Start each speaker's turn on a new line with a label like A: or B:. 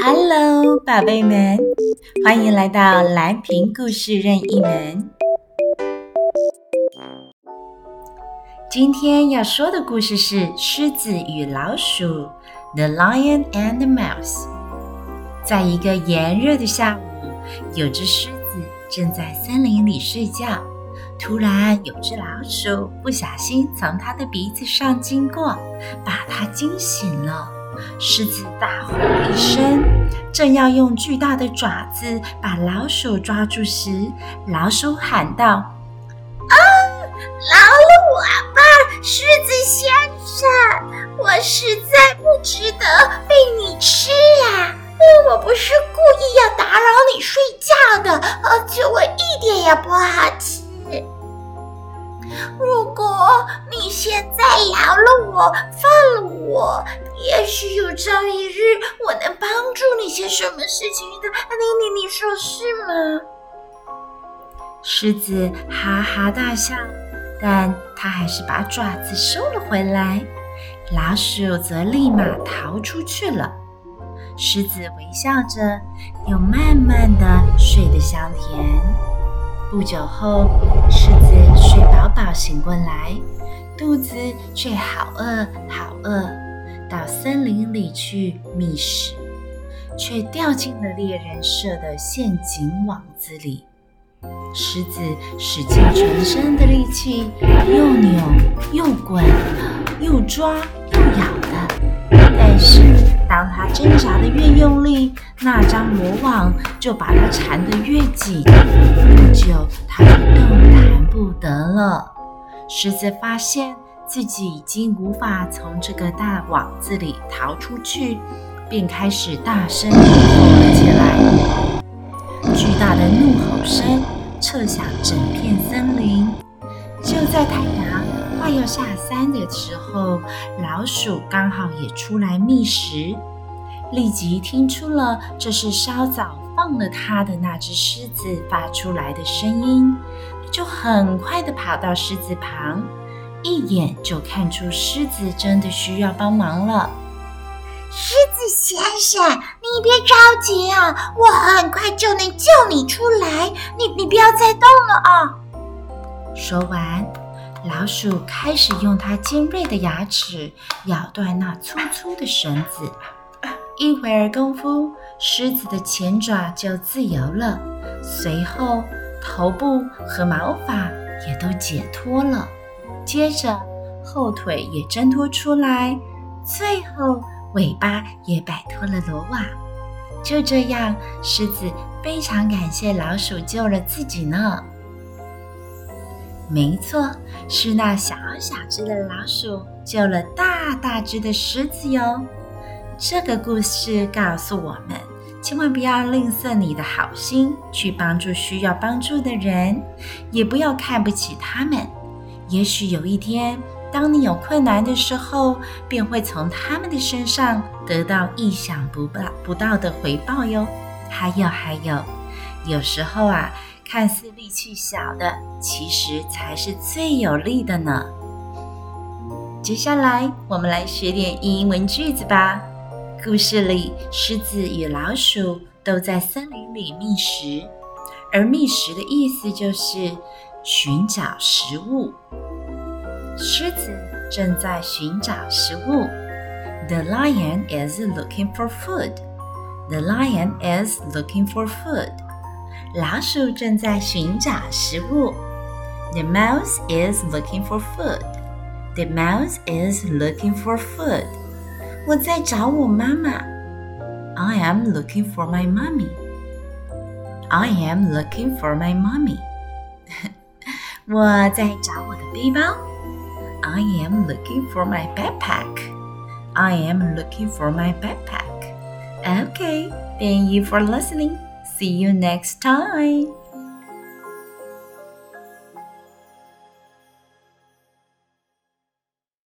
A: Hello， 寶貝們，歡迎來到藍屏故事任意門。今天要說的故事是《獅子與老鼠》The Lion and the Mouse。在一個炎熱的下午，有隻獅子正在森林裡睡覺，突然有隻老鼠不小心從它的鼻子上經過，把它驚醒了。獅子大吼一聲，正要用巨大的爪子把老鼠抓住時，老鼠喊道：
B: 饒了我吧，獅子先生，我實在不值得被你吃啊！我不是故意要打擾你睡覺的，而且我一點也不好吃。如果你現在饒了我，放了我，也許有朝一日我能幫助你些什麼事情的。你說是嗎？
A: 獅子哈哈大笑，但他還是把爪子收了回來。老鼠則立馬逃出去了。獅子微笑着，又慢慢地睡得香甜。不久後，獅子睡飽飽醒過來，肚子卻好餓好餓，到森林裡去覓食，卻掉進了獵人設的陷阱網子裡。獅子使盡全身的力氣，又扭又滾，又抓又咬的。但是當它掙扎得越用力，那張羅網就把它纏得越緊，不久它就動彈不得了。獅子發現自己已經無法從這個大網子裡逃出去，便開始大聲怒吼了起來。巨大的怒吼聲徹響整片森林。就在太陽快要下山的時候，老鼠剛好也出來覓食，立即聽出了這是稍早放了它的那隻獅子發出來的聲音，就很快地跑到獅子旁，一眼就看出獅子真的需要幫忙了。
B: 獅子先生，你別着急啊，我很快就能救你出來，你不要再動了啊！
A: 說完，老鼠開始用它尖銳的牙齒咬斷那粗粗的繩子。一會兒功夫，獅子的前爪就自由了，隨後頭部和毛髮也都解脫了，接着後腿也掙脫出來，最後尾巴也擺脫了羅網。就這樣，獅子非常感謝老鼠救了自己呢。沒錯，是那小小隻的老鼠救了大大隻的獅子喲。這個故事告訴我們，千萬不要吝嗇你的好心，去幫助需要幫助的人，也不要看不起他們。也許有一天，當你有困難的時候，便會從他們的身上得到意想不到的回報喲。還有，有時候啊，看似力氣小的，其實才是最有力的呢。接下來，我們來學點英文句子吧。故事裡，獅子與老鼠都在森林裡覓食，而覓食的意思就是尋找食物。獅子正在尋找食物。The lion is looking for food. The lion is looking for food. 老鼠正在尋找食物。The mouse is looking for food. The mouse is looking for food. 我在找我媽媽。I am looking for my mommy. I am looking for my mommy. 我在找我的背包。I am looking for my backpack. I am looking for my backpack. Okay, thank you for listening. See you next time.